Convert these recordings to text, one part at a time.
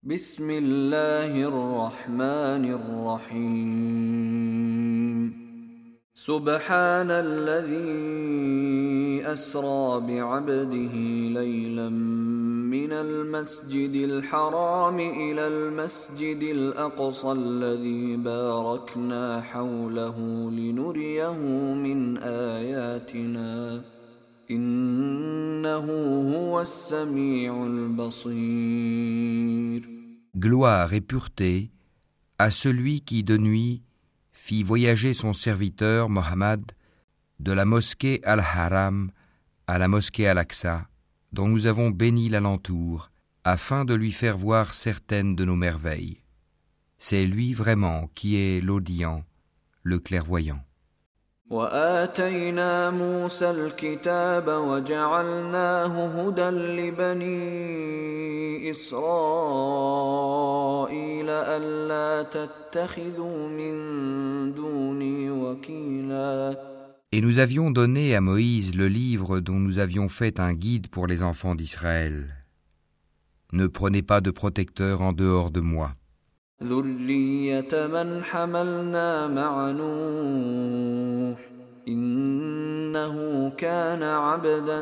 بسم الله الرحمن الرحيم سبحان الذي أسرى بعبده ليلا من المسجد الحرام إلى المسجد الأقصى الذي باركنا حوله لنريه من آياتنا إنه هو السميع البصير. Gloire et pureté à celui qui de nuit fit voyager son serviteur Mohammed de la mosquée Al-Haram à la mosquée Al-Aqsa, dont nous avons béni l'alentour, afin de lui faire voir certaines de nos merveilles. C'est lui vraiment qui est l'audient, le clairvoyant. وآتينا موسى الكتاب وجعلناه هدى لبني إسرائيل ألا تتخذوا من دوني وكيلا. Et nous avions donné à Moïse le livre dont nous avions fait un guide pour les enfants d'Israël. Ne prenez pas de protecteur en dehors de moi. ذرية من حملنا مع نوح إنه كان عبدا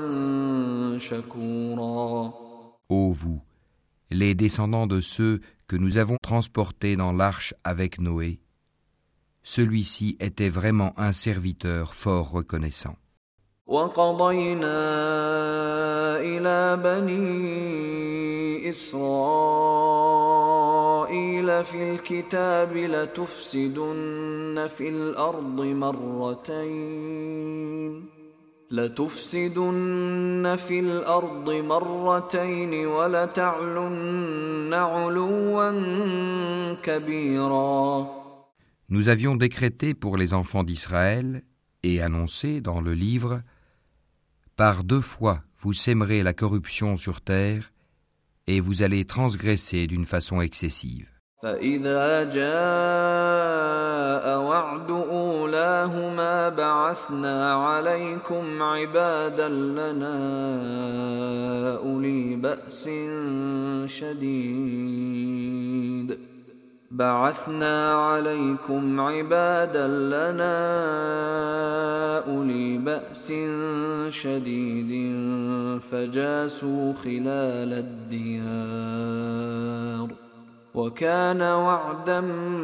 شكورا. Ô vous, les descendants de ceux que nous avons transportés dans l'arche avec Noé, celui-ci était vraiment un serviteur fort reconnaissant. وقضينا إلى بني إسرائيل في الكتاب لتفسدن في الأرض مرتين ولتعلن علوا كبيرا. Nous avions décrété pour les enfants d'Israël et annoncé dans le livre: par 2 fois vous sèmerez la corruption sur terre et vous allez transgresser d'une façon excessive. فإذا جاء وعد أولاهما بعثنا عليكم عبادا لنا أولي بأس شديد فجاسوا خلال الديار وكان وعدا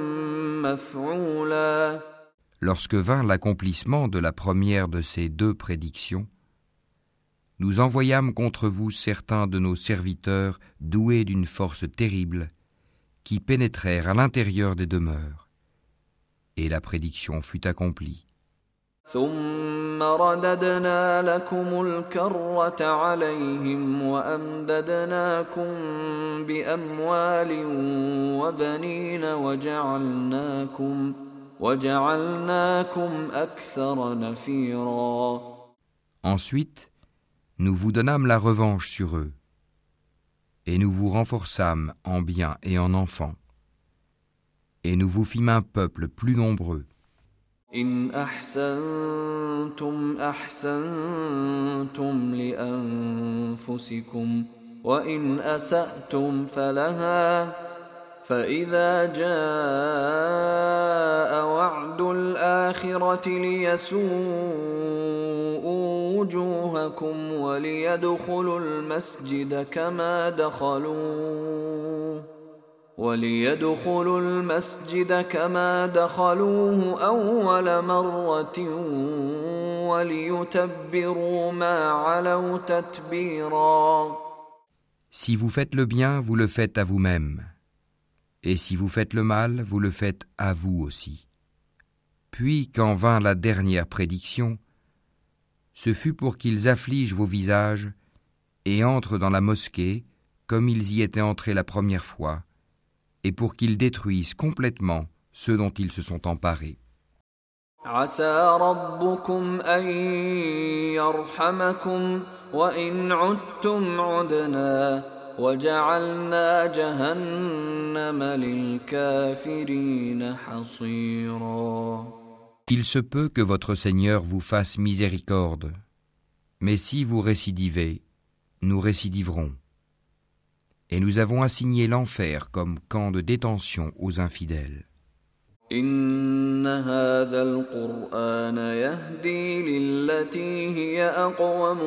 مفعولا. Lorsque vint l'accomplissement de la première de ces 2 prédictions, nous envoyâmes contre vous certains de nos serviteurs doués d'une force terrible, qui pénétrèrent à l'intérieur des demeures. Et la prédiction fut accomplie. ثم رددنا لكم الكرة عليهم وأمددناكم بأموال وبنين وجعلناكم أكثر نفيرا. Ensuite, nous vous donnâmes la revanche sur eux, et nous vous renforçâmes en biens et en enfants, et nous vous fîmes un peuple plus nombreux. إن أحسنتم أحسنتم لأنفسكم وإن أسأتم فلها فإذا جاء وعد الآخرة ليسوءوا وجوهكم وليدخلوا المسجد كما دخلوه أول مرة وليتبروا ما علوا تتبيرا. Si vous faites le bien, vous le faites à vous-même. Et si vous faites le mal, vous le faites à vous aussi. Puis, quand vint la dernière prédiction, ce fut pour qu'ils affligent vos visages et entrent dans la mosquée comme ils y étaient entrés la première fois, et pour qu'ils détruisent complètement ceux dont ils se sont emparés. عسى ربكم أن يرحمكم وإن عدتم عدنا وجعلنا جهنم للكافرين حصيرا. Il se peut que votre Seigneur vous fasse miséricorde, mais si vous récidivez, nous récidiverons. Et nous avons assigné l'enfer comme camp de détention aux infidèles. إن هذا القرآن يهدي للتي هي أقوم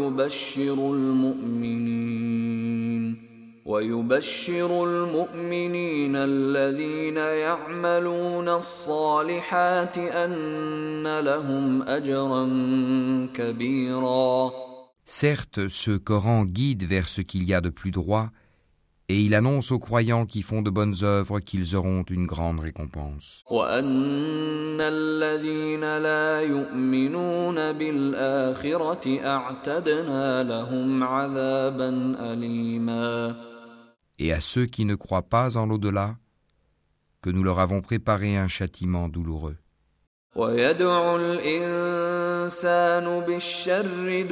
ويبشر المؤمنين الذين يعملون الصالحات أن لهم أجرا كبيرا. Certes, ce Coran guide vers ce qu'il y a de plus droit, et il annonce aux croyants qui font de bonnes œuvres qu'ils auront une grande récompense. وأن الذين لا يؤمنون بالآخرة أعتدنا لهم عذابا أليما. Et à ceux qui ne croient pas en l'au-delà, que nous leur avons préparé un châtiment douloureux. ويدعو الإنسان بالشر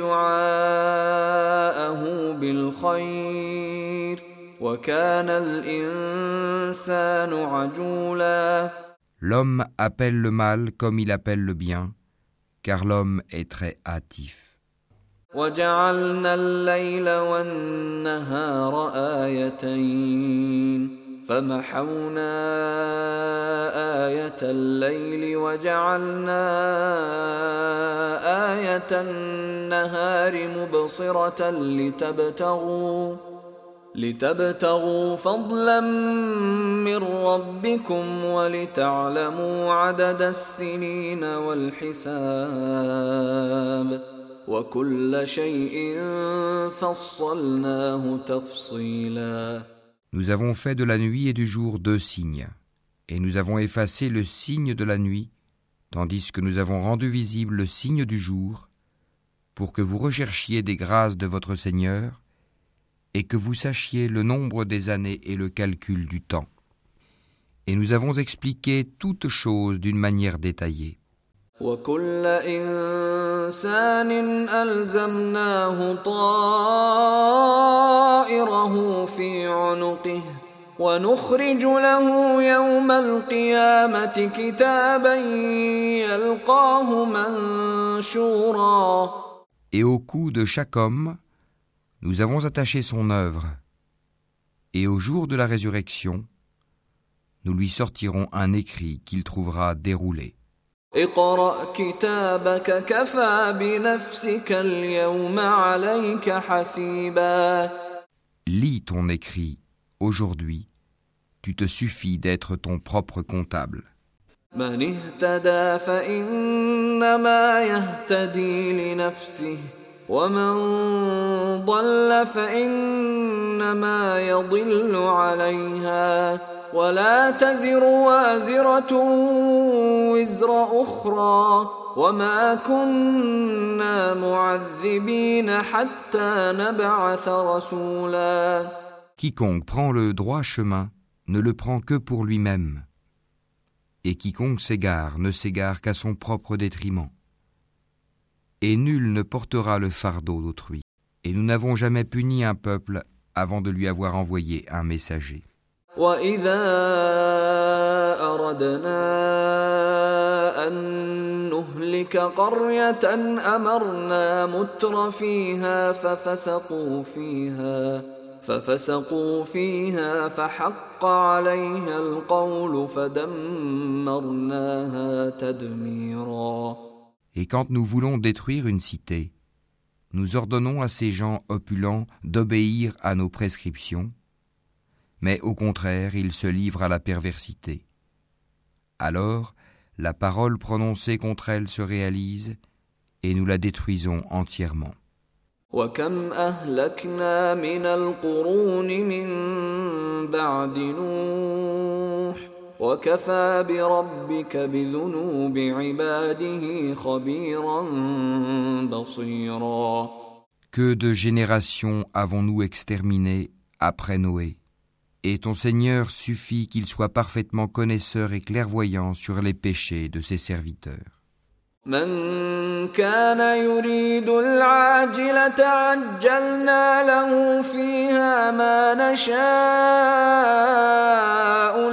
دعاءه بالخير وكان الإنسان عجولا. L'homme appelle le mal comme il appelle le bien, car l'homme est très hâtif. وجعلنا الليل والنهار آيتين فمحونا آية الليل وجعلنا آية النهار مبصرة لتبتغوا فضلا من ربكم ولتعلموا عدد السنين والحساب وكل شيء فصلناه تفصيلا. Nous avons fait de la nuit et du jour 2 signes, et nous avons effacé le signe de la nuit, tandis que nous avons rendu visible le signe du jour, pour que vous recherchiez des grâces de votre Seigneur, et que vous sachiez le nombre des années et le calcul du temps. Et nous avons expliqué toutes choses d'une manière détaillée. وكل إنسان ألزمناه طائره في عنقه ونخرج له يوم القيامة كتابا يلقاه منشورا. Et au cou de chaque homme, nous avons attaché son œuvre, et au jour de la résurrection, nous lui sortirons un écrit qu'il trouvera déroulé. اقرأ كتابك كفى بنفسك اليوم عليك حسيبا. Lis ton écrit, aujourd'hui, tu te suffis d'être ton propre comptable. من اهتدى فإنما يهتدي لنفسه ومن ضل فإنما يضل عليها ولا تزر وازرة وزر أخرى وما كنا معذبين حتى نبعث رسولا. Quiconque prend le droit chemin ne le prend que pour lui-même, et quiconque s'égare ne s'égare qu'à son propre détriment. Et nul ne portera le fardeau d'autrui. Et nous n'avons jamais puni un peuple avant de lui avoir envoyé un messager. وَإِذَا أَرَدْنَا أَن نُّهْلِكَ قَرْيَةً أَمَرْنَا مُتْرَ فِيهَا فَفَسَقُوا فِيهَا فَحَقَّ عَلَيْهَا الْقَوْلُ فَدَمَّرْنَاهَا تَدْمِيرًا. Et quand nous voulons détruire une cité, nous ordonnons à ces gens opulents d'obéir à nos prescriptions, mais au contraire, ils se livrent à la perversité. Alors, la parole prononcée contre elle se réalise et nous la détruisons entièrement. وَكَمْ أَهْلَكْنَا مِنَ الْقُرُونِ مِنْ بَعْدِ نُوحٍ وَكَفَى بِرَبِّكَ بِذُنُوبِ عِبَادِهِ خَبِيرًا بَصِيرًا. Que de générations avons-nous exterminées après Noé? Et ton Seigneur suffit qu'il soit parfaitement connaisseur et clairvoyant sur les péchés de ses serviteurs. من كان يريد العاجلة عجلنا له فيها ما نشاء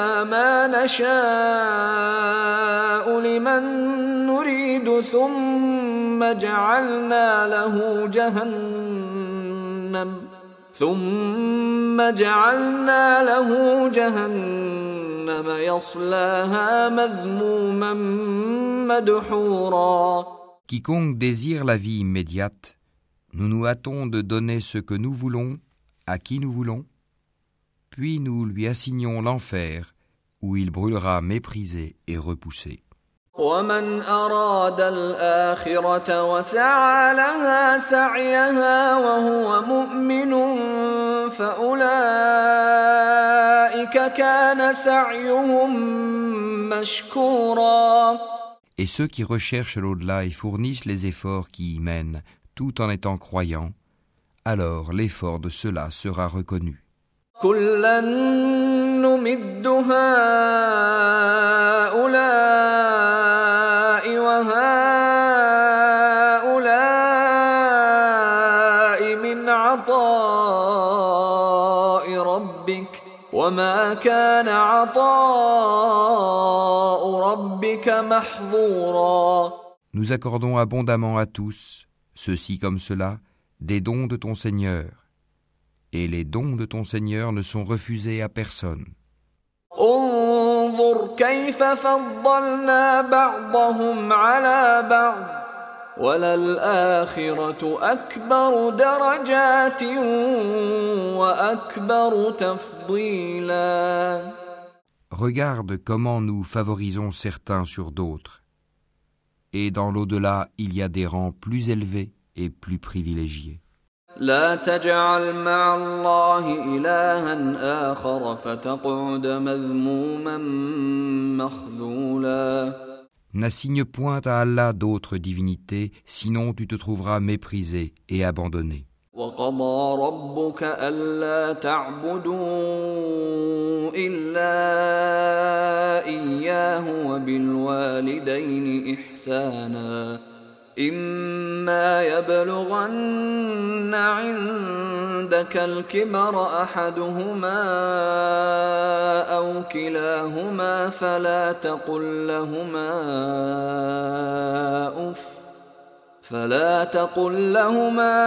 لمن نريد ثم ثم جعلنا له جهنم يصلاها مذموما مدحورا. Quiconque désire la vie immédiate, nous nous hâtons de donner ce que nous voulons, à qui nous voulons, puis nous lui assignons l'enfer, où il brûlera méprisé et repoussé. ومن أراد الآخرة وسعى لها سعيها وهو مؤمن فأولئك كان سعيهم مشكورا. Et ceux qui recherchent l'au-delà et fournissent les efforts qui y mènent, tout en étant croyants, alors l'effort de ceux-là sera reconnu. كلا نمد هؤلاء وهؤلاء من عطاء ربك وما كان عطاء ربك محظورا. Nous accordons abondamment à tous, ceux-ci comme ceux-là, des dons de ton Seigneur. Et les dons de ton Seigneur ne sont refusés à personne. انظر كيف فضلنا بعضهم على بعض وللآخرة أكبر درجات وأكبر تفضيلا. Regarde comment nous favorisons certains sur d'autres. Et dans l'au-delà, il y a des rangs plus élevés et plus privilégiés. لا تجعل مع الله إلها آخر فتقعد مذموما مخذولا. N'assigne point à Allah d'autres divinités, sinon tu te trouveras méprisé et abandonné. وقضى ربك ألا تعبدوا إلا إياه وبالوالدين إحسانا إما يبلغن عندك الكبر أحدهما أو كلاهما فلا تقل لهما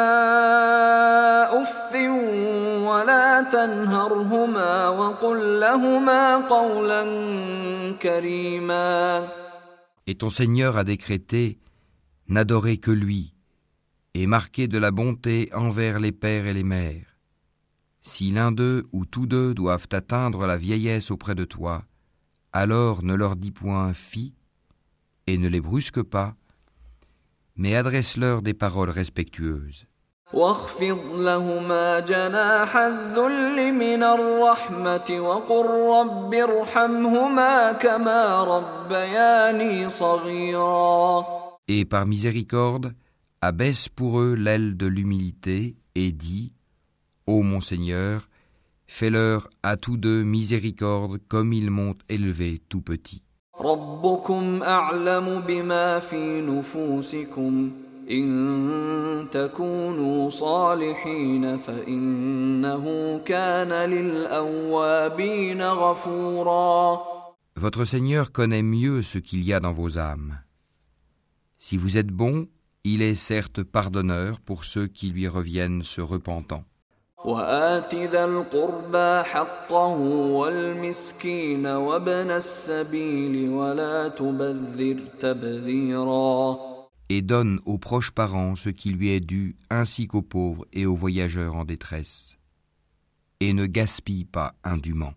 أف ولا تنهرهما وقل لهما قولا كريما. Et ton Seigneur a décrété: n'adorez que lui, et marquez de la bonté envers les pères et les mères. Si l'un d'eux ou tous deux doivent atteindre la vieillesse auprès de toi, alors ne leur dis point fi, et ne les brusque pas, mais adresse-leur des paroles respectueuses. واخفض لهما جناح الذل من الرحمة وقل رب ارحمهما كما ربياني صغيرا. Et par miséricorde, abaisse pour eux l'aile de l'humilité et dis: Ô mon Seigneur, fais-leur à tous deux miséricorde comme ils m'ont élevé tout petit. ربكم أعلم بما في نفوسكم إن تكونوا صالحين فإنه كان للأوابين غفورا. Votre Seigneur connaît mieux ce qu'il y a dans vos âmes. Si vous êtes bons, il est certes pardonneur pour ceux qui lui reviennent se repentant. وآت ذا القربى حقه والمسكين وابن السبيل ولا تبذر تبذيرا. Et donne aux proches parents ce qui lui est dû, ainsi qu'aux pauvres et aux voyageurs en détresse. Et ne gaspille pas indûment.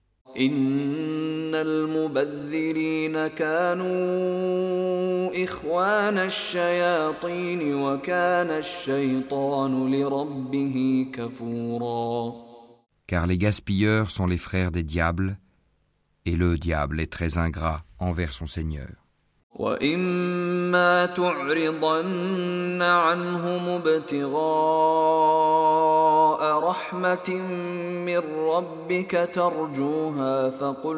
إن المبذرين كانوا إخوان الشياطين وكان الشيطان لربه كفورا. Car les gaspilleurs sont les frères des diables, et le diable est très ingrat envers son Seigneur. وإما تعرضن عنهم ابتغاء رحمة من ربك ترجوها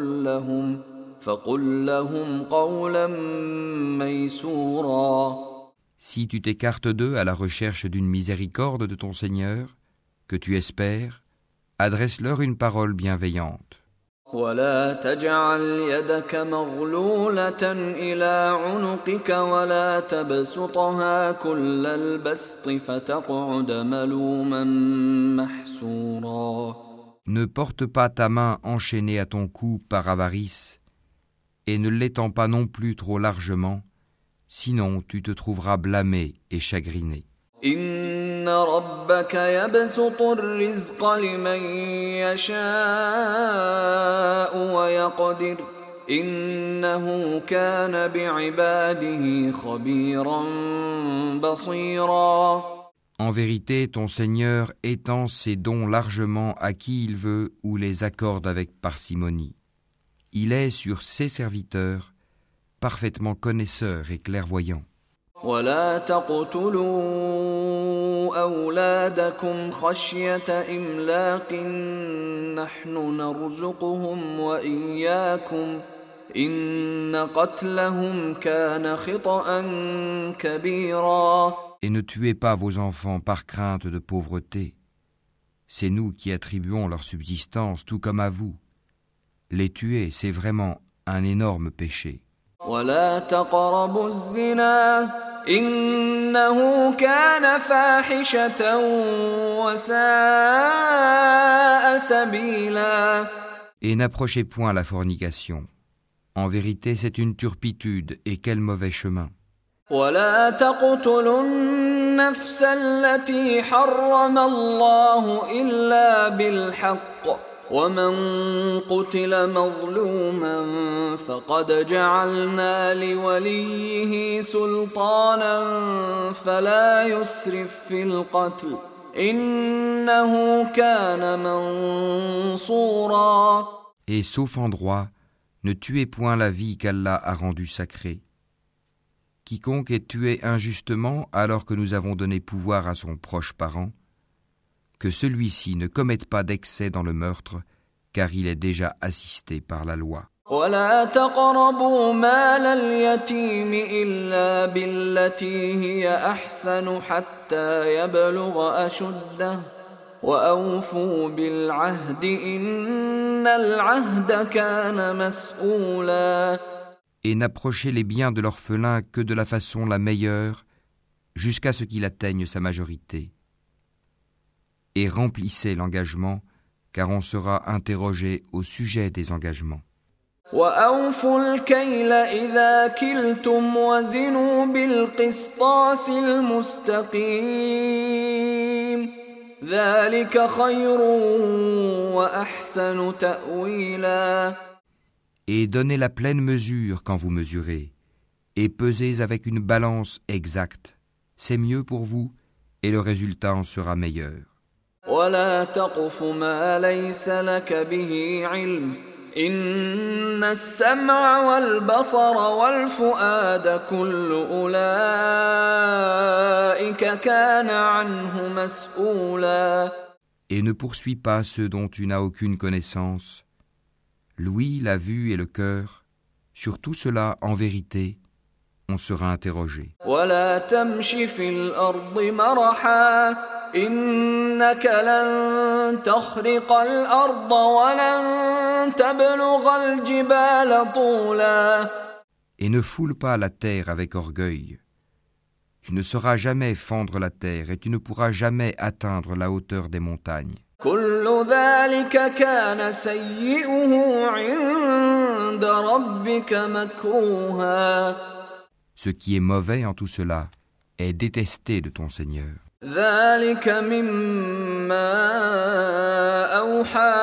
فقل لهم قولا ميسورا. Si tu t'écartes d'eux à la recherche d'une miséricorde de ton Seigneur, que tu espères, adresse-leur une parole bienveillante. ولا تجعل يدك مغلولة إلى عنقك ولا تبسطها كل البسط فتقعد ملوما محسورا. Ne porte pas ta main enchaînée à ton cou par avarice, et ne l'étends pas non plus trop largement, sinon tu te trouveras blâmé et chagriné. إن ربك يبسط الرزق لمن يشاء ويقدر إنه كان بعباده خبيرا بصيرا. En vérité, ton Seigneur étend ses dons largement à qui il veut ou les accorde avec parcimonie. Il est sur ses serviteurs parfaitement connaisseur et clairvoyant. ولا تقتلوا أولادكم خشية إملاق نحن نرزقهم وإياكم إن قتلهم كان خطأ كبيرا. Et ne tuez pas vos enfants par crainte de pauvreté. C'est nous qui attribuons leur subsistance tout comme à vous. Les tuer, c'est vraiment un énorme péché. ولا تقربوا الزنا إنه كان فاحشة وساء سبيلا. Et n'approchez point la fornication. En vérité, c'est une turpitude, et quel mauvais chemin. ولا تقتلوا النفس التي حرم الله إلا بالحق ومن قتل مظلوما فقد جعلنا لوليه سلطانا فلا يسرف في القتل إنه كان منصورا. Et sauf en droit, ne tuez point la vie qu'Allah a rendue sacrée. Quiconque est tué injustement alors que nous avons donné pouvoir à son proche parent, que celui-ci ne commette pas d'excès dans le meurtre, car il est déjà assisté par la loi. ولا تقربوا مال اليتيم إلا بالتي هي أحسن حتى يبلغ أشده وأوفوا بالعهد إن العهد كان مسؤولا. Et n'approchez les biens de l'orphelin que de la façon la meilleure, jusqu'à ce qu'il atteigne sa majorité. Et remplissez l'engagement, car on sera interrogé au sujet des engagements. وأوفوا الكيل إذا كلتم وزنوا بالقسطاس المستقيم ذلك خير وأحسن تأويلا. Et donnez la pleine mesure quand vous mesurez, et pesez avec une balance exacte. C'est mieux pour vous, et le résultat en sera meilleur. ولا تقف ما ليس لك به علم إن السمع والبصر والفؤاد كل أولئك كان عنه مسؤولا. Et ne poursuis pas ceux dont tu n'as aucune connaissance. L'ouïe, la vue et le cœur, sur tout cela, en vérité, on sera interrogé. ولا تمش في الأرض مرحا إنك لن تخرق الأرض ولن تبلغ الجبال طولا. Et ne foule pas la terre avec orgueil. Tu ne sauras jamais fendre la terre et tu ne pourras jamais atteindre la hauteur des montagnes. كل ذلك كان سيئه عند ربك مكروها. Ce qui est mauvais en tout cela est détesté de ton Seigneur. ذلك مما أوحى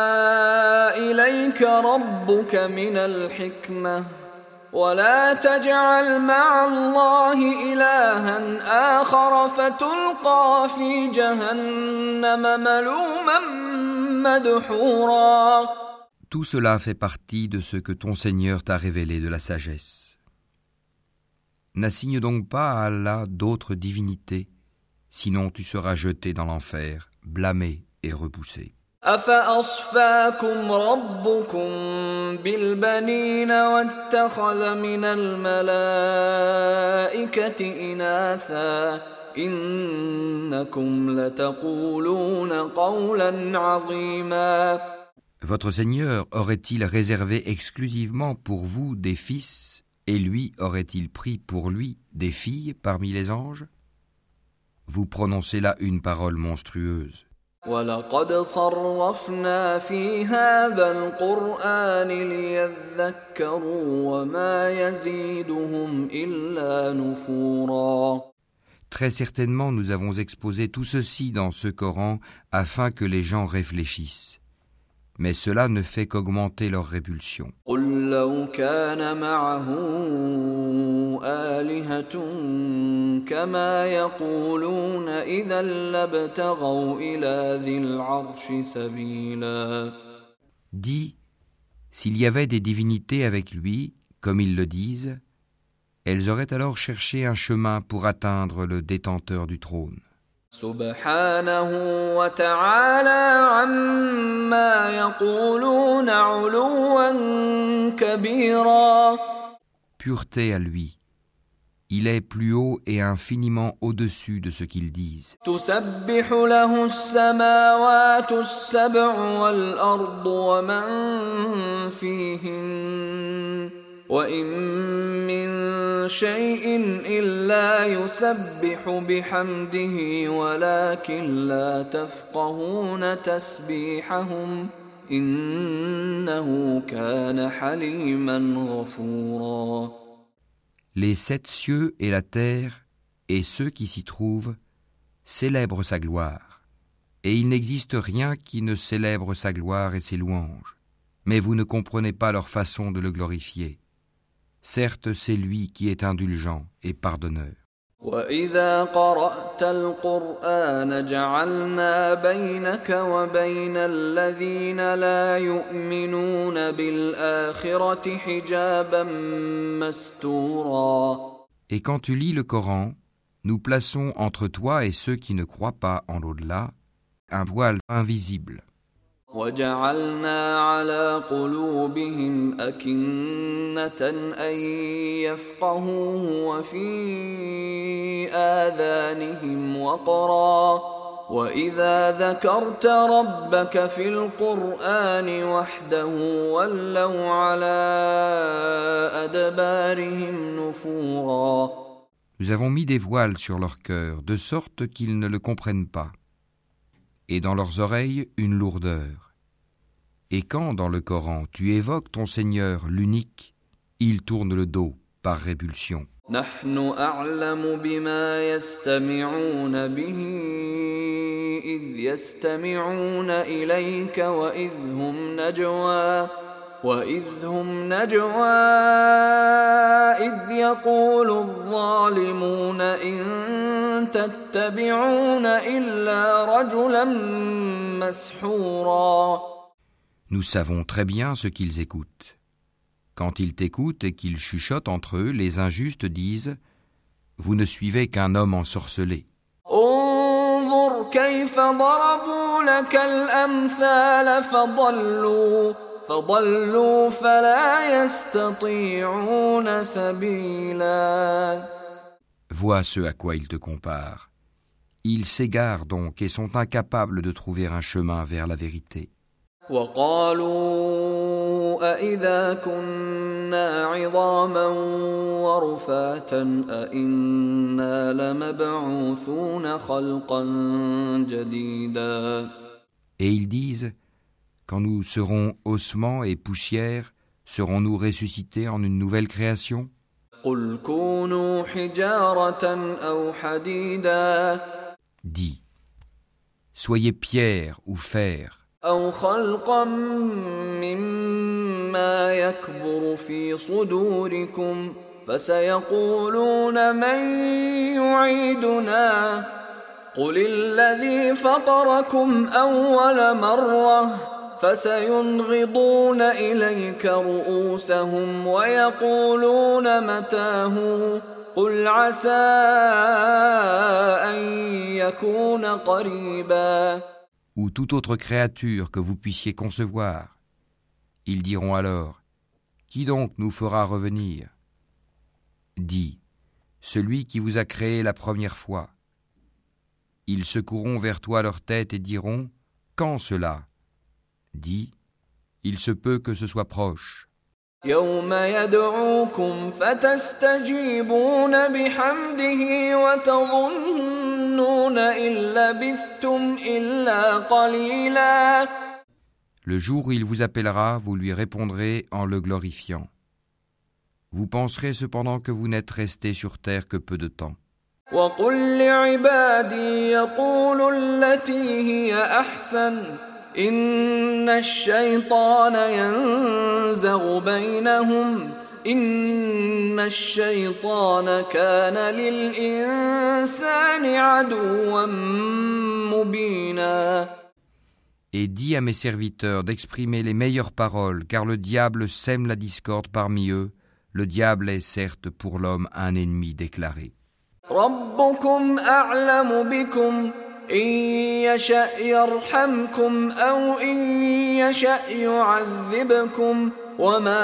إليك ربك من الحكمة ولا تجعل مع الله إلها آخر فتلقى في جهنم ملوما مدحورا. Tout cela fait partie de ce que ton Seigneur t'a révélé de la sagesse. N'assigne donc pas à Allah d'autres divinités, sinon tu seras jeté dans l'enfer, blâmé et repoussé. أفأصفاكم ربكم بالبنين واتخذ من الملائكة إناثا إنكم لتقولون قولا عظيما. Votre Seigneur aurait-il réservé exclusivement pour vous des fils, et lui aurait-il pris pour lui des filles parmi les anges? Vous prononcez là une parole monstrueuse. وَلَقَدْ صَرَّفْنَا فِي هَذَا الْقُرْآنِ لِيَذَّكَّرُوا وَمَا يَزِيدُهُمْ إِلَّا نُفُورًا. Très certainement, nous avons exposé tout ceci dans ce Coran afin que les gens réfléchissent. Mais cela ne fait qu'augmenter leur répulsion. قُل لَّوْ كَانَ مَعَهُ آلِهَةٌ كَمَا يَقُولُونَ إِذًا لَّابْتَغَوْا إِلَىٰ ذِي الْعَرْشِ سَبِيلًا. Dis, s'il y avait des divinités avec lui, comme ils le disent, elles auraient alors cherché un chemin pour atteindre le détenteur du trône. سبحانه وتعالى عما يقولون علوا كبيرا. Pureté à lui. Il est plus haut et infiniment au-dessus de ce qu'ils disent. تسبح له السماوات السبع والأرض ومن فيهن وإن من شيء إلا يسبح بحمده ولكن لا تفقهون تسبيحهم إنه كان حليما غفورا. Les 7 cieux et la terre et ceux qui s'y trouvent célèbrent sa gloire, et il n'existe rien qui ne célèbre sa gloire et ses louanges, mais vous ne comprenez pas leur façon de le glorifier. Certes, c'est lui qui est indulgent et pardonneur. وَإِذَا قَرَأْتَ الْقُرْآنَ جَعَلْنَا بَيْنَكَ وَبَيْنَ الَّذِينَ لَا يُؤْمِنُونَ بِالْآخِرَةِ حِجَابًا مَسْتُورًا. Et quand tu lis le Coran, nous plaçons entre toi et ceux qui ne croient pas en l'au-delà un voile invisible. وَجَعَلْنَا عَلَى قُلُوبِهِمْ أَكِنَّةً أَن يَفْقَهُوهُ وَفِي آذَانِهِمْ وَقْرًا وَإِذَا ذَكَرْتَ رَبَّكَ فِي الْقُرْآنِ وَحْدَهُ وَلَّوْا عَلَى أَدْبَارِهِمْ نُفُورًا. Nous avons mis des voiles sur leur cœur, de sorte qu'ils ne le comprennent pas, et dans leurs oreilles une lourdeur. Et quand, dans le Coran, tu évoques ton Seigneur, l'unique, ils tournent le dos par répulsion. نحن أعلم بما يستمعون به إذ يستمعون إليك وإذ هم نجوى إذ يقول الظالمون إن تتبعون إلا رجلا مسحورا. Nous savons très bien ce qu'ils écoutent. Quand ils t'écoutent et qu'ils chuchotent entre eux, les injustes disent « Vous ne suivez qu'un homme ensorcelé. » انظر كيف ضربوا لك الأمثال فضلوا فلا يستطيعون سبيلا. Vois ce à quoi ils te comparent. Ils s'égarent donc et sont incapables de trouver un chemin vers la vérité. وقالوا أإذا كنا عظاما ورفاتا أإنا لمبعوثون خلقا جديدا. Et ils disent, quand nous serons ossements et poussière, serons-nous ressuscités en une nouvelle création? قل كونوا حجارة أو حديدا. Dis, soyez pierre ou fer, أو خلقا مما يكبر في صدوركم فسيقولون من يعيدنا قل الذي فطركم أول مرة فسينغضون إليك رؤوسهم ويقولون متاه قل عسى أن يكون قريبا. ou toute autre créature que vous puissiez concevoir. Ils diront alors, qui donc nous fera revenir? Dis, celui qui vous a créé la première fois. Ils secourront vers toi leur tête et diront, quand cela? Dis, Il se peut que ce soit proche. يوم يدعوكم فتستجيبون بحمده وتظنون إن لبثتم إلا قليلا. Le jour où il vous appellera, vous lui répondrez en le glorifiant. Vous penserez cependant que vous n'êtes resté sur terre que peu de temps. وقل لعبادي يقولوا التي هي أحسن إن الشيطان ينزغ بينهم إن الشيطان كان للإنسان عدوا مبينا. Et dis à mes serviteurs d'exprimer les meilleures paroles, car le diable sème la discorde parmi eux. Le diable est certes pour l'homme un ennemi déclaré. ربكم أعلم بكم إن يشأ يرحمكم أو إن يشأ يعذبكم وما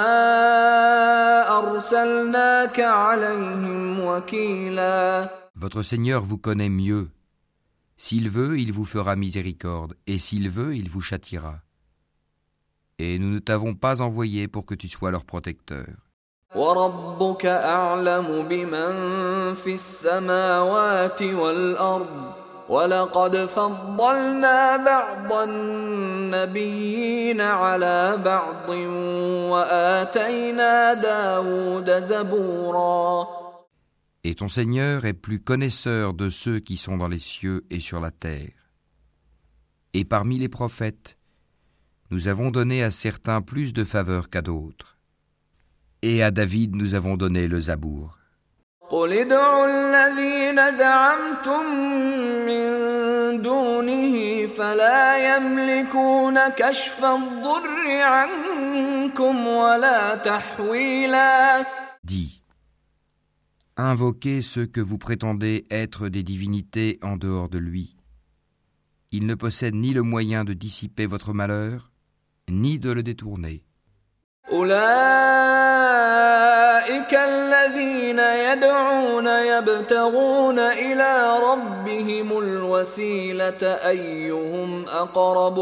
أرسلناك عليهم وكيلا. Votre Seigneur vous connaît mieux. S'il veut, il vous fera miséricorde, et s'il veut, il vous châtiera. Et nous ne t'avons pas envoyé pour que tu sois leur protecteur. وَرَبُّكَ أَعْلَمُ بِمَنْ فِي السَّمَاوَاتِ وَالْأَرْضِ وَلَقَدْ فَضَّلْنَا بَعْضَ النَّبِيِّينَ عَلَى بَعْضٍ وَآتَيْنَا دَاوُودَ زَبُورًا. Et ton Seigneur est plus connaisseur de ceux qui sont dans les cieux et sur la terre. Et parmi les prophètes, nous avons donné à certains plus de faveur qu'à d'autres. Et à David nous avons donné le Zabour. قُلِ ادْعُوا الَّذِينَ زَعَمْتُم مِّن دُونِهِ فَلَا يَمْلِكُونَ كَشْفَ الضُّرِّ عَنكُمْ وَلَا تَحْوِيلًا. Dis, invoquez ceux que vous prétendez être des divinités en dehors de lui. Ils ne possèdent ni le moyen de dissiper votre malheur, ni de le détourner. أولئك الذين يدعون يبتغون إلى ربهم الوسيلة أيهم أقرب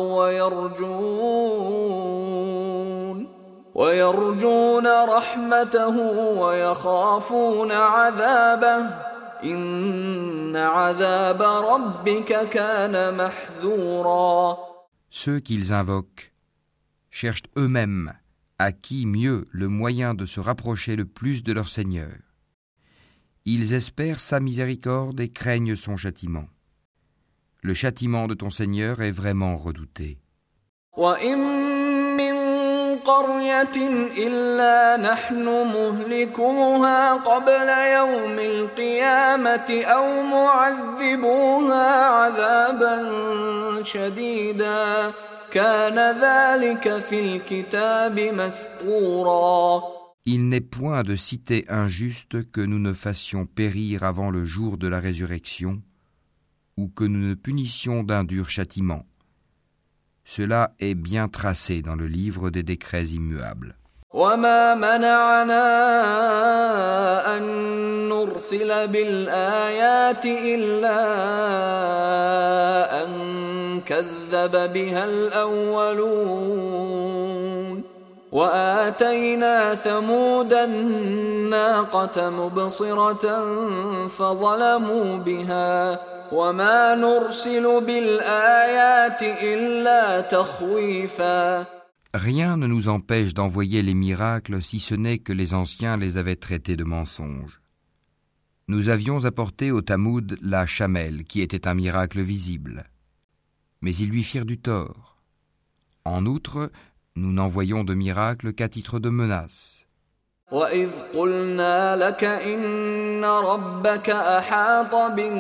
ويرجون رحمته ويخافون عذابه إن عذاب ربك كان محذورا. Ceux qu'ils invoquent cherchent eux-mêmes à qui mieux le moyen de se rapprocher le plus de leur Seigneur. Ils espèrent sa miséricorde et craignent son châtiment. Le châtiment de ton Seigneur est vraiment redouté. وَإِن مِّن قَرْيَةٍ إِلَّا نَحْنُ مُهْلِكُوهَا قَبْلَ يَوْمِ الْقِيَامَةِ أَوْ مُعَذِّبُوهَا عَذَابًا شَدِيدًا كَانَ ذَلِكَ فِي الْكِتَابِ مَسْطُورًا. Il n'est point de cité injuste que nous ne fassions périr avant le jour de la résurrection, ou que nous ne punissions d'un dur châtiment. Cela est bien tracé dans le livre des décrets immuables. وَمَا مَنَعَنَا أَن نُّرْسِلَ بِالْآيَاتِ إِلَّا أَن كَذَّبَ بِهَا الْأَوَّلُونَ وَآتَيْنَا ثَمُودَ النَّاقَةَ مُبْصِرَةً فَظَلَمُوا بِهَا وَمَا نُرْسِلُ بِالْآيَاتِ إِلَّا تَخْوِيفًا. Rien ne nous empêche d'envoyer les miracles si ce n'est que les anciens les avaient traités de mensonges. Nous avions apporté au Tamoud la chamelle qui était un miracle visible. Mais ils lui firent du tort. En outre, nous n'envoyons de miracle qu'à titre de menace. وَإِذْ قُلْنَا لَكَ إِنَّ رَبَّكَ أَحَاطَ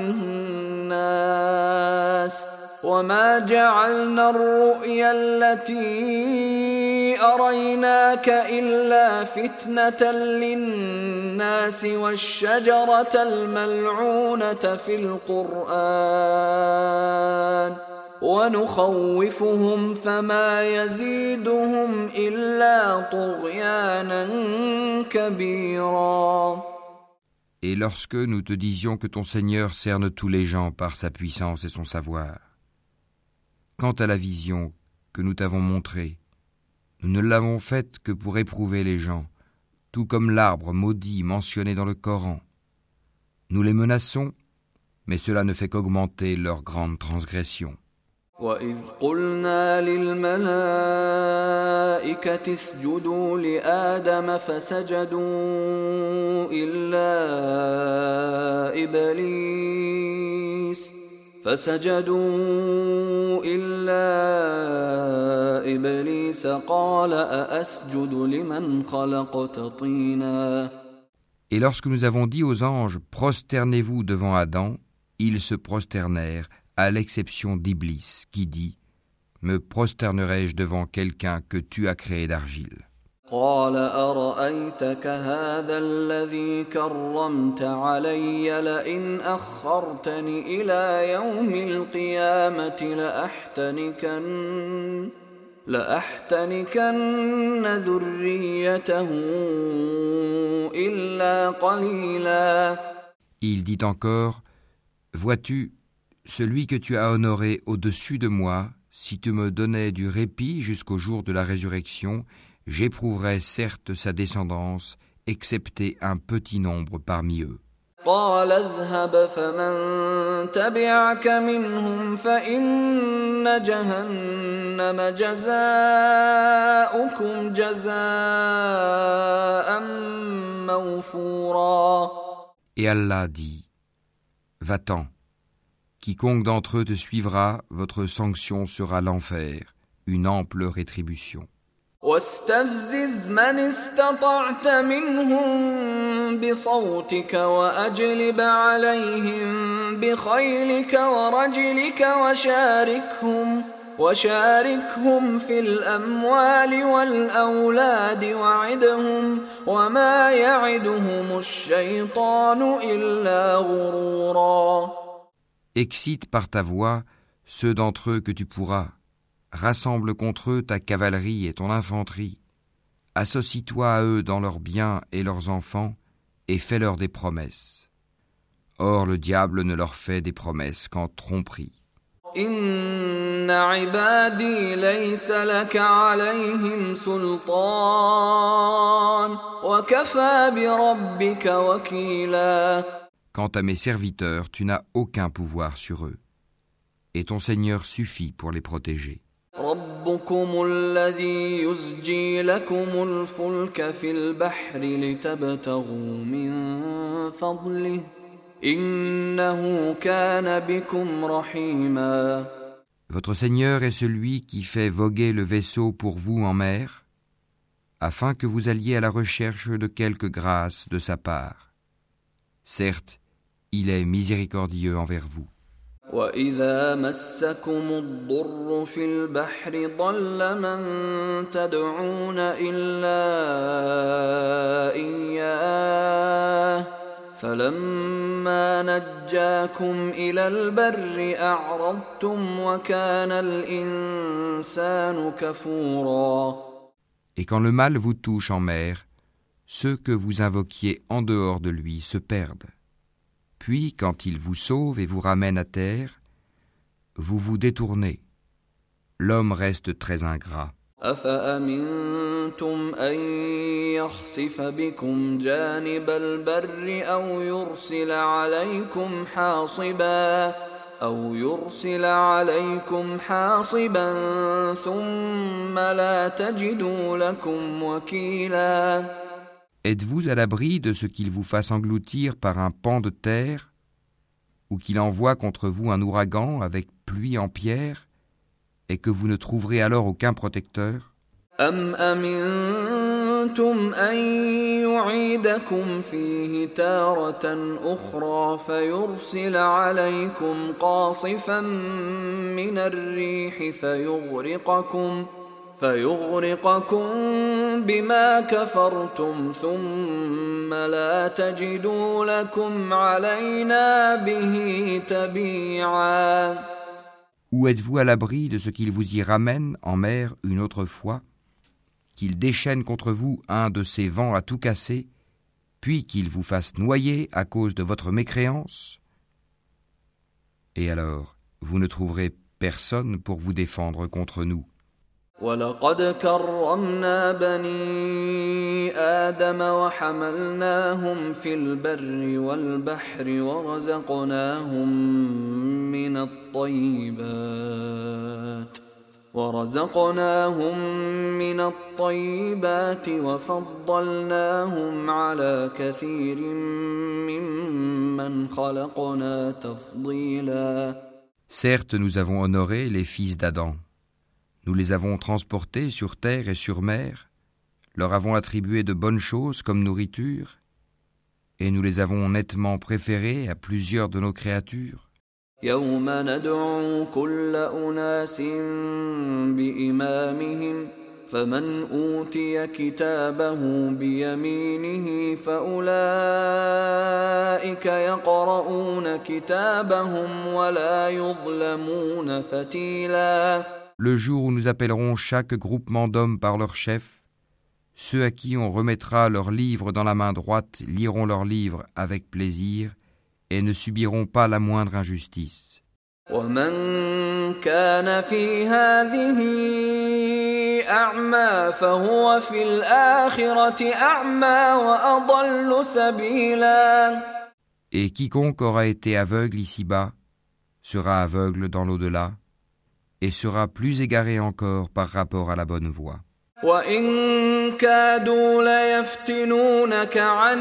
بِالنَّاسِ وَمَا جَعَلْنَا الرُّؤْيَا الَّتِي أَرَيْنَاكَ إِلَّا فِتْنَةً لِلنَّاسِ وَالشَّجَرَةَ الْمَلْعُونَةَ فِي الْقُرْآنِ وَنُخَوِّفُهُمْ فَمَا يَزِيدُهُمْ إِلَّا طُغْيَانًا كَبِيرًا. Et lorsque nous te disions que ton Seigneur cerne tous les gens par sa puissance et son savoir, quant à la vision que nous t'avons montrée, Nous ne l'avons faite que pour éprouver les gens, tout comme l'arbre maudit mentionné dans le Coran. Nous les menaçons, mais cela ne fait qu'augmenter leur grande transgression. وَإِذْ قُلْنَا لِلْمَلَائِكَةِ اسْجُدُوا لِآدَمَ فَسَجَدُوا إِلَّا إِبْلِيسَ قَالَ أَأَسْجُدُ لِمَنْ خَلَقْتَ طِينًا. Et lorsque nous avons dit aux anges « Prosternez-vous devant Adam », ils se prosternèrent, à l'exception d'Iblis, qui dit « Me prosternerai-je devant quelqu'un que tu as créé d'argile ?» قال أرأيتك هذا الذي كرمت علي لئن أخرتني إلى يوم القيامة لأحتنكن ذريته إلا قليلا. Il dit encore « Vois-tu, celui que tu as honoré au-dessus de moi, si tu me donnais du répit jusqu'au jour de la résurrection, j'éprouverais certes sa descendance, excepté un petit nombre parmi eux. » قال اذهب فمن تبعك منهم فإن جهنم جزاؤكم جزاء موفورا. Et Allah dit « Va-t'en, quiconque d'entre eux te suivra, votre sanction sera l'enfer, une ample rétribution. » واستفزز من استطعت منهم بصوتك وأجلب عليهم بخيلك ورجلك وشاركهم في الأموال والأولاد وعدهم وما يعدهم الشيطان إلا غرورا. Excite par ta voix ceux d'entre eux que tu pourras. Rassemble contre eux ta cavalerie et ton infanterie. Associe-toi à eux dans leurs biens et leurs enfants et fais-leur des promesses. Or, le diable ne leur fait des promesses qu'en tromperie. Inna ibadi laysa laka alayhim sultan wa kafa bi rabbika wakila. Quant à mes serviteurs, tu n'as aucun pouvoir sur eux, et ton Seigneur suffit pour les protéger. ربكم الذي يزجي لكم الفلك في البحر لتبتغوا من فضله إنه كان بكم رحيما. Votre Seigneur est celui qui fait voguer le vaisseau pour vous en mer, afin que vous alliez à la recherche de quelque grâce de sa part. Certes, il est miséricordieux envers vous. وَإِذَا مَسَّكُمُ الضُّرُّ فِي الْبَحْرِ ضَلَّ مَن تَدْعُونَ إِلَّا إِيَّاهُ فَلَمَّا نَجَّاكُمْ إِلَى الْبَرِّ أَعْرَضْتُمْ وَكَانَ الْإِنسَانُ كَفُورًا. Et quand le mal vous touche en mer, ceux que vous invoquiez en dehors de lui se perdent. Puis, quand il vous sauve et vous ramène à terre, vous vous détournez. L'homme reste très ingrat. أَفَأَمِنْتُمْ أَنْ يَخْسِفَ بِكُمْ جَانِبَ الْبَرِّ أَوْ يُرْسِلَ عَلَيْكُمْ حَاصِبًا ثُمَّ لَا تَجِدُوا لَكُمْ وَكِيلًا. Êtes-vous à l'abri de ce qu'il vous fasse engloutir par un pan de terre, ou qu'il envoie contre vous un ouragan avec pluie en pierre, et que vous ne trouverez alors aucun protecteur? أَمْ أَمِنْتُمْ أَنْ يُعِيدَكُمْ فِيهِ تَارَةً أُخْرَى فَيُرْسِلَ عَلَيْكُمْ قَاصِفًا مِنَ الرِّيحِ فيغرقكم بما كفرتم ثم لا تجدوا لكم علينا به تبيعا. Ou êtes-vous à l'abri de ce qu'il vous y ramène en mer une autre fois, qu'il déchaîne contre vous un de ces vents à tout casser, puis qu'il vous fasse noyer à cause de votre mécréance? Et alors, vous ne trouverez personne pour vous défendre contre nous. ولقد كرمنا بني آدم وحملناهم في البر والبحر ورزقناهم من الطيبات وفضلناهم على كثير ممن خلقنا تفضيلا. Certes, nous avons honoré les fils d'Adam. Nous les avons transportés sur terre et sur mer, leur avons attribué de bonnes choses comme nourriture, et nous les avons nettement préférés à plusieurs de nos créatures. يوم ندعو كل أناس بإمامهم فمن أوتي كتابه بيمينه فأولئك يقرؤون كتابهم ولا يظلمون فتيلا. Le jour où nous appellerons chaque groupement d'hommes par leur chef, ceux à qui on remettra leurs livres dans la main droite liront leurs livres avec plaisir et ne subiront pas la moindre injustice. ومن كان في هذه أعمى فهو في الآخرة أعمى وأضل سبيلا. Et quiconque aura été aveugle ici-bas sera aveugle dans l'au-delà et sera plus égaré encore par rapport à la bonne voie. وَإِن كَادُوا لَيَفْتِنُونَكَ عَنِ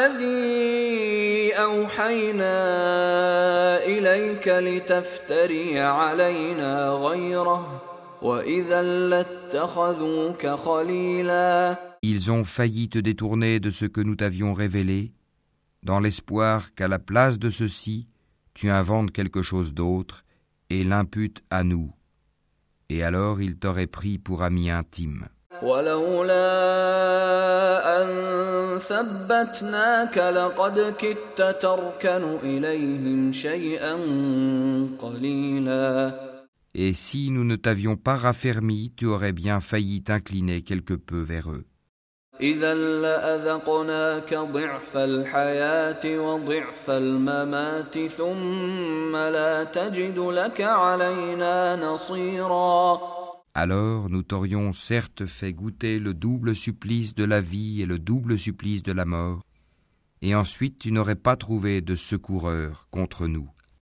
الَّذِي أَوْحَيْنَا إِلَيْكَ لِتَفْتَرِيَ عَلَيْنَا غَيْرَهُ وَإِذًا لَاتَّخَذُوكَ خَلِيلًا. Ils ont failli te détourner de ce que nous t'avions révélé, dans l'espoir qu'à la place de ceci, tu inventes quelque chose d'autre et l'imputes à nous. Et alors ils t'auraient pris pour ami intime. ولولا أن ثبتناك لقد كدت تركن إليهم شيئا قليلا. Et si nous ne t'avions pas raffermi, tu aurais bien failli t'incliner quelque peu vers eux. إذا لأذقناك ضعف الحياة وضعف الممات ثم لا تجد لك علينا نصيرا. Alors nous t'aurions certes fait goûter le double supplice de la vie et le double supplice de la mort, et ensuite tu n'aurais pas trouvé de secoureur contre nous.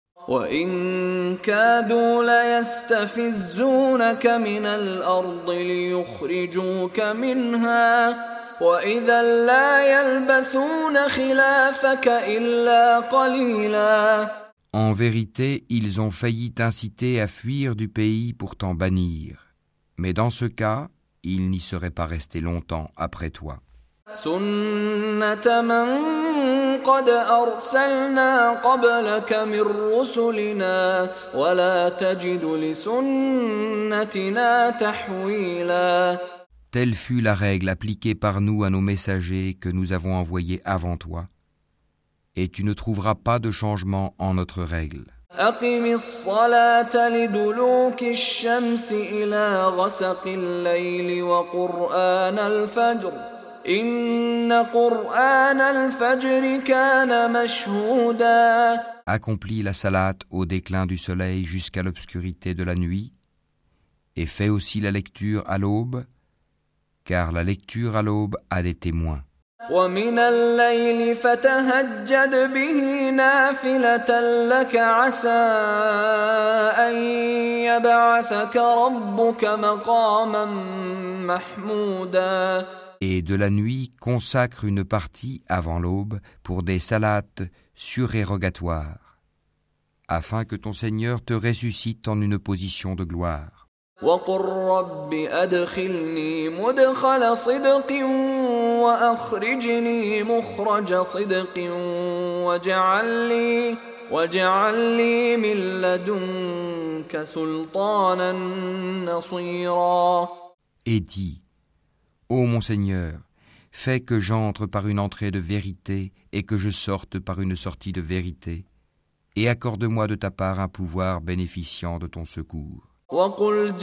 وَإِن كَادُوا لَيَسْتَفِزُّونَكَ مِنَ الْأَرْضِ لِيُخْرِجُوكَ مِنْهَا وَإِذًا لَا يَلْبَثُونَ خِلَافَكَ إِلَّا قَلِيلًا. En vérité, ils ont failli t'inciter à fuir du pays pour t'en bannir. Mais dans ce cas, ils n'y seraient pas restés longtemps après toi. سُنَّةَ مَن قَدْ أَرْسَلْنَا قَبْلَكَ مِن رُّسُلِنَا وَلَا تَجِدُ لِسُنَّتِنَا تَحْوِيلًا. Telle fut la règle appliquée par nous à nos messagers que nous avons envoyés avant toi, et tu ne trouveras pas de changement en notre règle. أقم الصلاة لدلوك الشمس إلى غسق الليل وقرآن الفجر إن قرآن الفجر كان مشهودا. Accomplis la salate au déclin du soleil jusqu'à l'obscurité de la nuit, et fais aussi la lecture à l'aube, car la lecture à l'aube a des témoins. ومن الليل فتهجد به نافلة لك عسى أن يبعثك ربك مقاما محمودا. Et de la nuit, consacre une partie avant l'aube pour des salates surérogatoires, afin que ton Seigneur te ressuscite en une position de gloire. وقل رب أدخلني مدخل صدق وأخرجني مخرج صدق واجعل لي من لدنك سلطانا نصيرا. Et dis, ô mon Seigneur, fais que j'entre par une entrée de vérité et que je sorte par une sortie de vérité, et accorde-moi de ta part un pouvoir bénéficiant de ton secours. وقل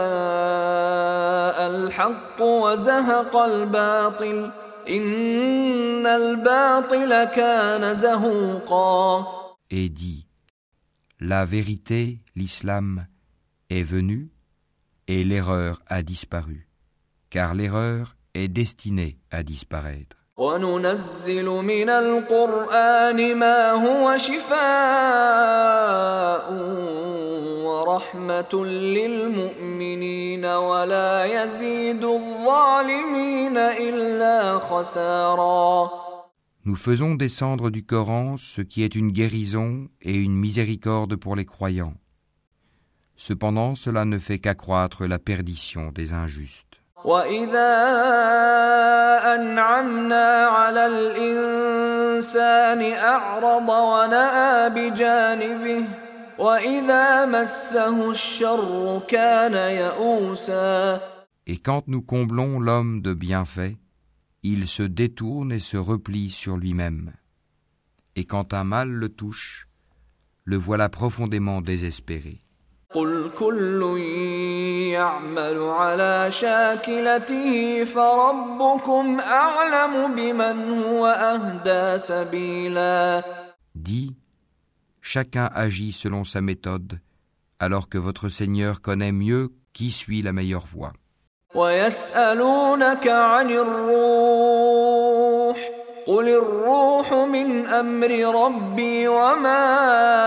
جاء الحق وزهق الباطل إن الباطل كان زهوقا. Et dis, la vérité, l'islam, est venue, et l'erreur a disparu, car l'erreur est destinée à disparaître. وَنُنَزِّلُ مِنَ الْقُرْآنِ مَا هُوَ شِفَاءٌ وَرَحْمَةٌ لِّلْمُؤْمِنِينَ وَلَا يَزِيدُ الظَّالِمِينَ إِلَّا خَسَارًا. Nous faisons descendre du Coran ce qui est une guérison et une miséricorde pour les croyants. Cependant, cela ne fait qu'accroître la perdition des injustes. وَإِذَا أَنْعَمْنَا عَلَى الْإِنسَانِ أَعْرَضَ وَنَأَىٰ بِجَانِبِهِ وَإِذَا مَسَّهُ الشَّرُّ كَانَ يَئُوسًا. Et quand nous comblons l'homme de bienfaits, il se détourne et se replie sur lui-même. Et quand un mal le touche, le voilà profondément désespéré. قُلْ كُلٌّ يَعْمَلُ عَلَى شَاكِلَتِهِ فَرَبُّكُمْ أَعْلَمُ بِمَنْ هُوَ أَهْدَىٰ سَبِيلًا. Dis, chacun agit selon sa méthode, alors que votre Seigneur connaît mieux qui suit la meilleure voie. وَيَسْأَلُونَكَ عَنِ الرُّوحِ قُلِ الرُّوحُ مِنْ أَمْرِ رَبِّي وَمَا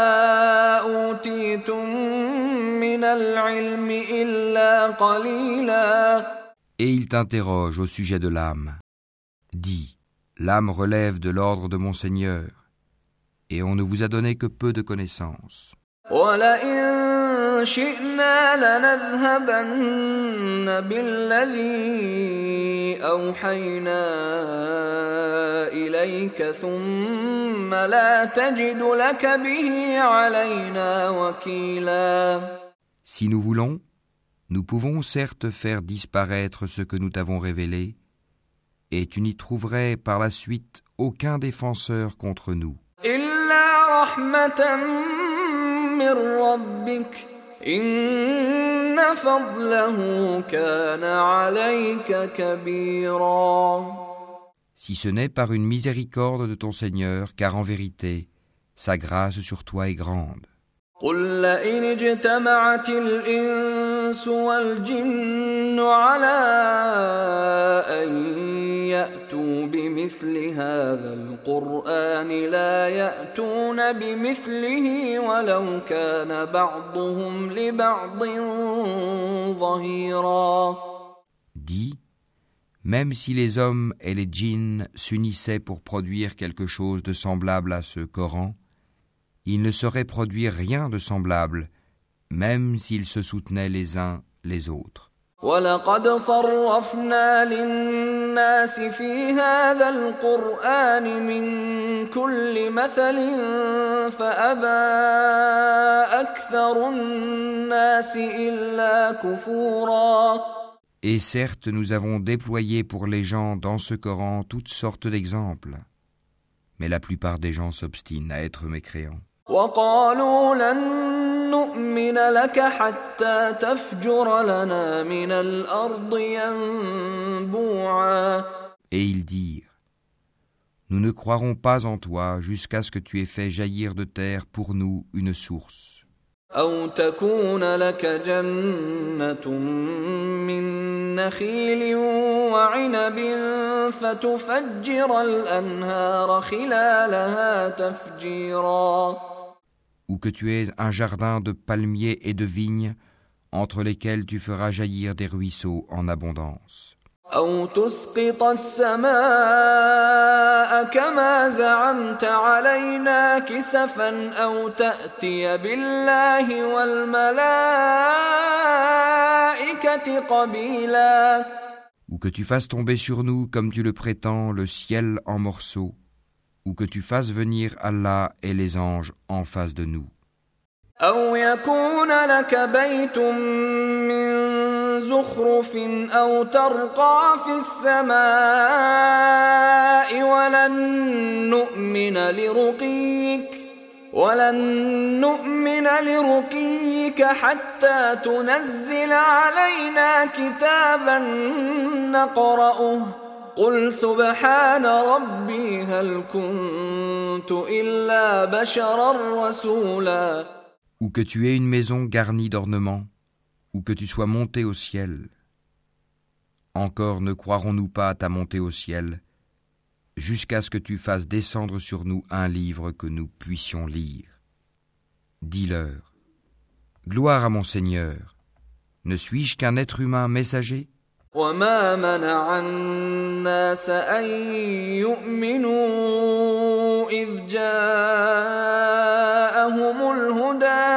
أُوتِيتُم مِّنَ الْعِلْمِ إِلَّا قَلِيلًا. Et il t'interroge au sujet de l'âme. Dis, l'âme relève de l'ordre de mon Seigneur, et on ne vous a donné que peu de connaissances. وَلَئِن شِئْنَا لَنَذْهَبَنَّ بِالَّذِي أَوْحَيْنَا إِلَيْكَ ثُمَّ لَا تَجِدُ لَكَ بِهِ عَلَيْنَا وَكِيلًا. Si nous voulons, nous pouvons certes faire disparaître ce que nous t'avons révélé, et tu n'y trouverais par la suite aucun défenseur contre nous. إِلَّا رَحْمَةً مِّن رَّبِّكَ إِنَّ فَضْلَهُ كَانَ عَلَيْكَ كَبِيرًا. Si ce n'est par une miséricorde de ton Seigneur, car en vérité, sa grâce sur toi est grande. قُل لَّئِنِ اجْتَمَعَتِ الْإِنسُ وَالْجِنُّ عَلَىٰ أَن يَأْتُوا بِمِثْلِ هَٰذَا الْقُرْآنِ لَا يَأْتُونَ بِمِثْلِهِ وَلَوْ كَانَ بَعْضُهُمْ لِبَعْضٍ ظَهِيرًا. Dis, même si les hommes et les djinns s'unissaient pour produire quelque chose de semblable à ce Coran, ils ne sauraient produire rien de semblable, même s'ils se soutenaient les uns les autres. وَلَقَدْ صَرَّفْنَا لِلنَّاسِ فِي هَٰذَا الْقُرْآنِ مِن كُلِّ مَثَلٍ فَأَبَىٰ أَكْثَرُ النَّاسِ إِلَّا كُفُورًا. Et certes, nous avons déployé pour les gens dans ce Coran toutes sortes d'exemples, mais la plupart des gens s'obstinent à être mécréants. وَقَالُوا لَن نُّؤْمِنَ لَكَ حَتَّىٰ تَفْجُرَ لَنَا مِنَ الْأَرْضِ يَنبُوعًا. Et ils dirent, nous ne croirons pas en toi jusqu'à ce que tu aies fait jaillir de terre pour nous une source. أَوْ تَكُونَ لَكَ جَنَّةٌ مِّن نَّخِيلٍ وَعِنَبٍ فَتُفَجِّرَ الْأَنْهَارَ خِلَالَهَا تَفْجِيرًا. Ou que tu aies un jardin de palmiers et de vignes, entre lesquels tu feras jaillir des ruisseaux en abondance. أَوْ تُسْقِطَ السَّمَاءَ كَمَا زَعَمْتَ عَلَيْنَا كِسَفًا أَوْ تَأْتِيَ بِاللَّهِ وَالْمَلَائِكَةِ قَبِيلًا. Ou que tu fasses tomber sur nous, comme tu le prétends, le ciel en morceaux, ou que tu fasses venir Allah et les anges en face de nous. أَوْ يَكُونَ لَكَ بَيْتٌ مِّن زُخْرُفٍ أَوْ تَرْقَىٰ فِي السَّمَاءِ وَلَن نُّؤْمِنَ لِرُقِيِّكَ حَتَّىٰ تُنَزِّلَ عَلَيْنَا كِتَابًا نَّقْرَؤُهُ قُلْ سُبْحَانَ رَبِّي هَلْ كُنتُ إِلَّا بَشَرًا رَّسُولًا. Ou que tu aies une maison garnie d'ornements, ou que tu sois monté au ciel. Encore ne croirons-nous pas à ta montée au ciel, jusqu'à ce que tu fasses descendre sur nous un livre que nous puissions lire. Dis-leur, gloire à mon Seigneur, ne suis-je qu'un être humain messager ? وما منع الناس أن يؤمنوا إذ جاءهم الهدى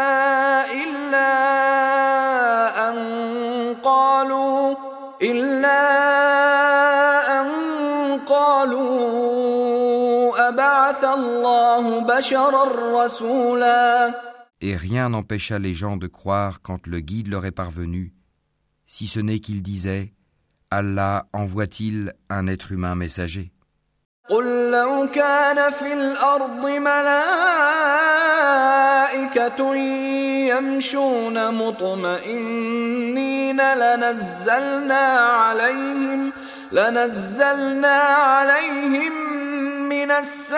إلا أن قالوا أبعث الله بشرا رسولا. Et rien n'empêcha les gens de croire quand le guide leur est parvenu, si ce n'est qu'ils disaient « Allah envoie-t-il un être humain messager ?» قل لو كان في الأرض ملائكة يمشون مطمئنين لنزلنا عليهم من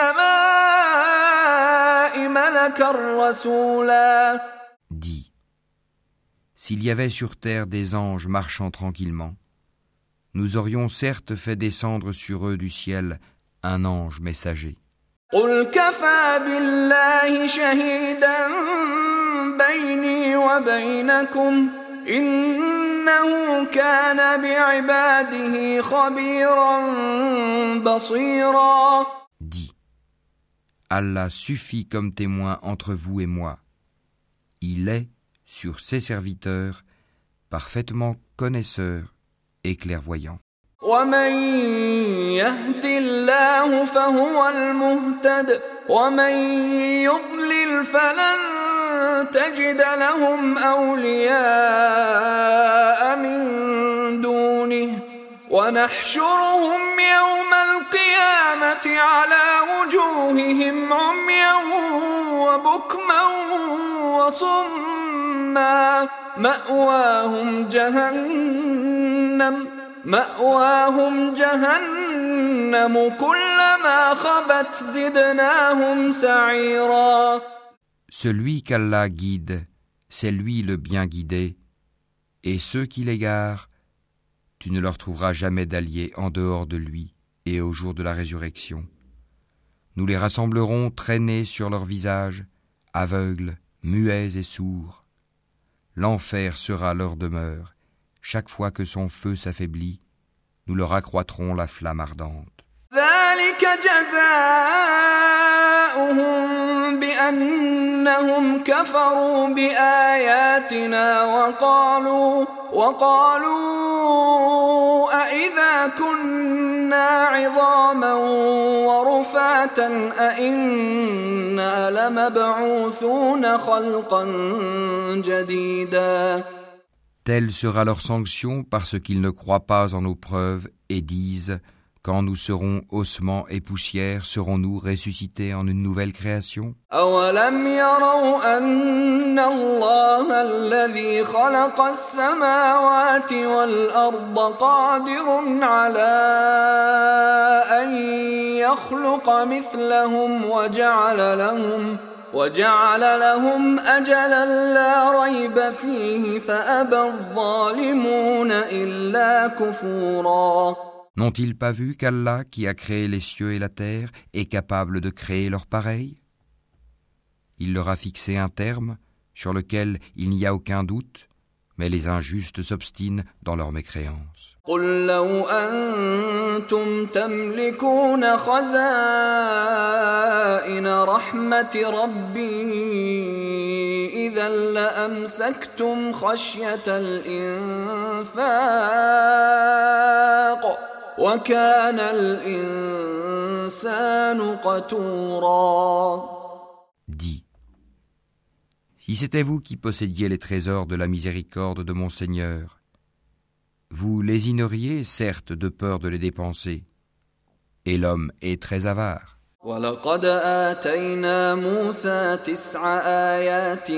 السماء ملكا رسولا. Dis, s'il y avait sur terre des anges marchant tranquillement, nous aurions certes fait descendre sur eux du ciel un ange messager. قل كفى بالله شهيدا بيني وبينكم إنه كان بعباده خبيرا بصيرا. Dis, Allah suffit comme témoin entre vous et moi. Il est, sur ses serviteurs, parfaitement connaisseur et clairvoyant. ومن يهد الله فهو المهتد ومن يضلل فلن تجد لهم أولياء من دونه ونحشرهم يوم القيامة على وجوههم عميا وبكما وصما مأواهم جهنم كلما خبت زدناهم سعيرا. Celui qu'Allah guide, c'est lui le bien guidé, et ceux qui l'égarent, tu ne leur trouveras jamais d'alliés en dehors de lui et au jour de la résurrection. Nous les rassemblerons traînés sur leurs visages, aveugles, muets et sourds. L'enfer sera leur demeure. Chaque fois que son feu s'affaiblit, nous leur accroîtrons la flamme ardente. ذلك جزاؤهم بأنهم كفروا بآياتنا وقالوا أإذا كنا عظاما ورفاتا أإنا لمبعوثون خلقا جديدا. Telle sera leur sanction parce qu'ils ne croient pas en nos preuves et disent « Quand nous serons ossements et poussière, serons-nous ressuscités en une nouvelle création ?» أَوَلَمْ يَرَوْا أَنَّ اللَّهَ الَّذِي خَلَقَ السَّمَاوَاتِ وَالْأَرْضَ قَادِرٌ عَلَى أَن يَخْلُقَ مِثْلَهُمْ وجعل لهم أجلا لا ريب فيه فأبى الظالمون إلا كفورا. N'ont-ils pas vu qu'Allah, qui a créé les cieux et la terre, est capable de créer leur pareil ? Il leur a fixé un terme sur lequel il n'y a aucun doute, mais les injustes s'obstinent dans leur mécréance. قل لو أنتم تملكون خزائن رحمة ربي إذا لأمسكتم خشية الإنفاق وكان الإنسان قتورا. Dis, si c'était vous qui possédiez les trésors de la miséricorde de mon Seigneur, vous lésineriez certes de peur de les dépenser, et l'homme est très avare. وَلَقَدْ آتَيْنَا مُوسَى 9 آيَاتٍ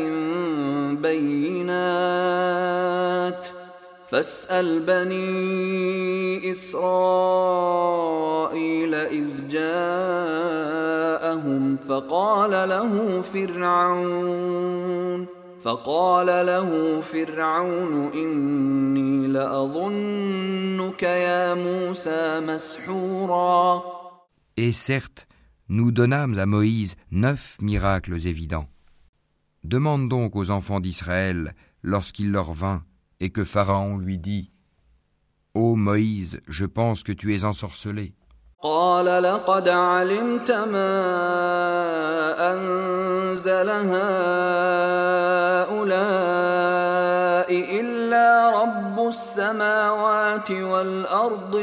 بَيِّنَاتٍ فَاسْأَلْ بَنِي إِسْرَائِيلَ إِذْ جَاءَهُمْ فَقَالَ فقال له فرعون إني لأظنك يا موسى مسحورا. Et certes, nous donnâmes à Moïse 9 miracles évidents. Demande donc aux enfants d'Israël, lorsqu'il leur vint, et que Pharaon lui dit : Ô Moïse, je pense que tu es ensorcelé. قال لقد علمت ما أنزل هؤلاء إلا رب السماوات والأرض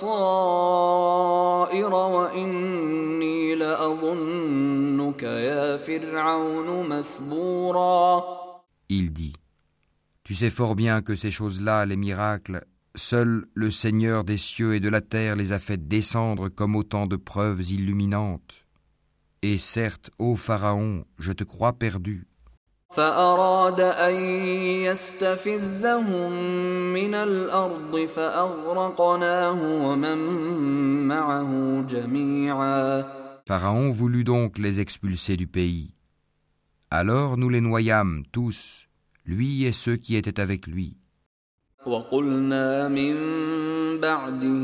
بصائر وإني لأظنك يا فرعون مثبورا. Il dit : Tu sais fort bien que ces choses-là, les miracles, seul le Seigneur des cieux et de la terre les a fait descendre comme autant de preuves illuminantes. Et certes, ô Pharaon, je te crois perdu. فأراد أن يستفزهم من الأرض فأغرقناه ومن معه جميعا. Pharaon voulut donc les expulser du pays. Alors nous les noyâmes tous, lui et ceux qui étaient avec lui. وقلنا من بعده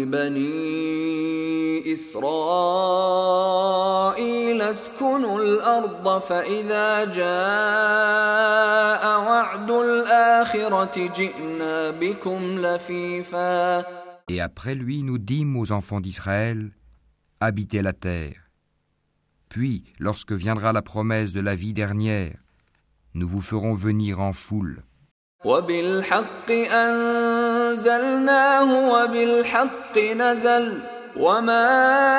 لبني إسرائيل اسكنوا الأرض فإذا جاء وعد الآخرة جئنا بكم لفيفا. Et après lui, nous dîmes aux enfants d'Israël : Habitez la terre. Puis, lorsque viendra la promesse de la vie dernière, nous vous ferons venir en foule. وبالحق أنزلناه وبالحق نزل وما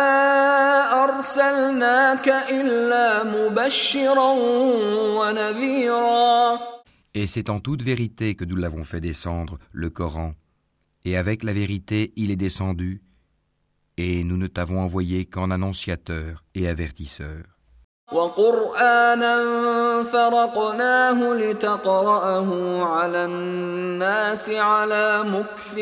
أرسلناك إلا مبشرا ونذيرا. Et c'est en toute vérité que nous l'avons fait descendre, le Coran, et avec la vérité il est descendu, et nous ne t'avons envoyé qu'en annonciateur et avertisseur. وقرآنا فرقناه لتقرأه على الناس على مكث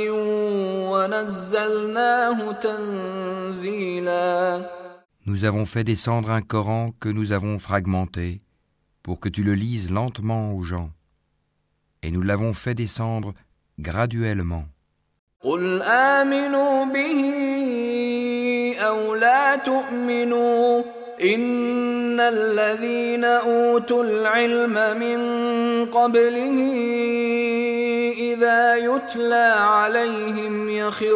ونزلناه تنزيلا. Nous avons fait descendre un Coran que nous avons fragmenté pour que tu le lises lentement aux gens. Et nous l'avons fait descendre graduellement. قل آمنوا به أو لا تؤمنوا إن الذين أوتوا العلم من قبله إذا يتلى عليهم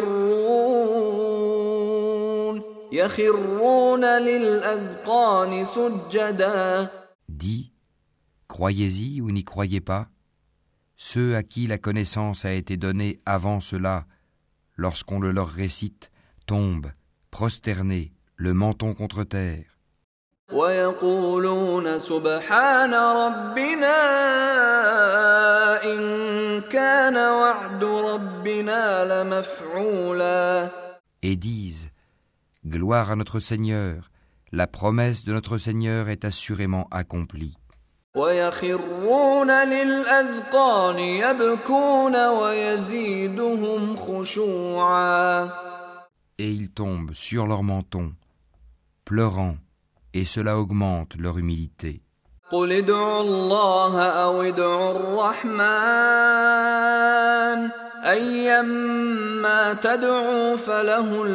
يخرون للأذقان سجدا. Dis, croyez-y ou n'y croyez pas, ceux à qui la connaissance a été donnée avant cela, lorsqu'on le leur récite, tombent, prosternés, le menton contre terre. ويقولون سبحان ربنا إن كان وعد ربنا لمفعولا. Et disent, gloire à notre Seigneur, la promesse de notre Seigneur est assurément accomplie. ويخرون للأذقان يبكون ويزيدهم خشوعا. Et ils tombent sur leur menton, pleurant, et cela augmente leur humilité. قل ادعوا الله أو ادعوا الرحمن أيما تدعوا فله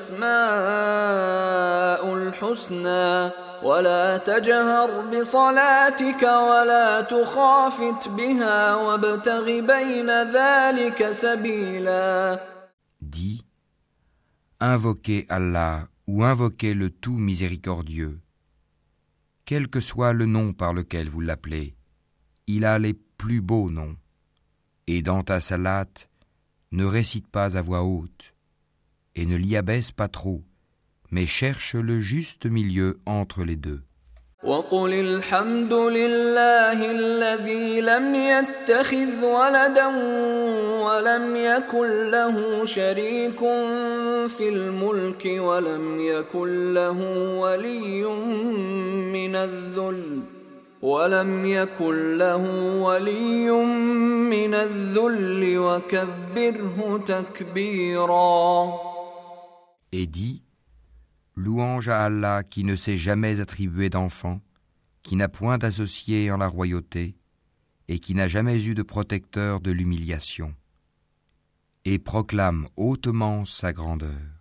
الأسماء الحسنى ولا تجهر بصلاتك ولا تخافت بها وابتغ بين ذلك سبيلا. Dis, invoquez Allah ou invoquez le tout miséricordieux. Quel que soit le nom par lequel vous l'appelez, il a les plus beaux noms. Et dans ta salate, ne récite pas à voix haute, et ne l'y abaisse pas trop, mais cherche le juste milieu entre les deux. وقل الحمد لله الذي لم يتخذ ولدا ولم يكن له شريك في الملك ولم يكن له ولي من الذل وكبره تكبيرا. Et dis, louange à Allah qui ne s'est jamais attribué d'enfant, qui n'a point d'associé en la royauté, et qui n'a jamais eu de protecteur de l'humiliation, et proclame hautement sa grandeur.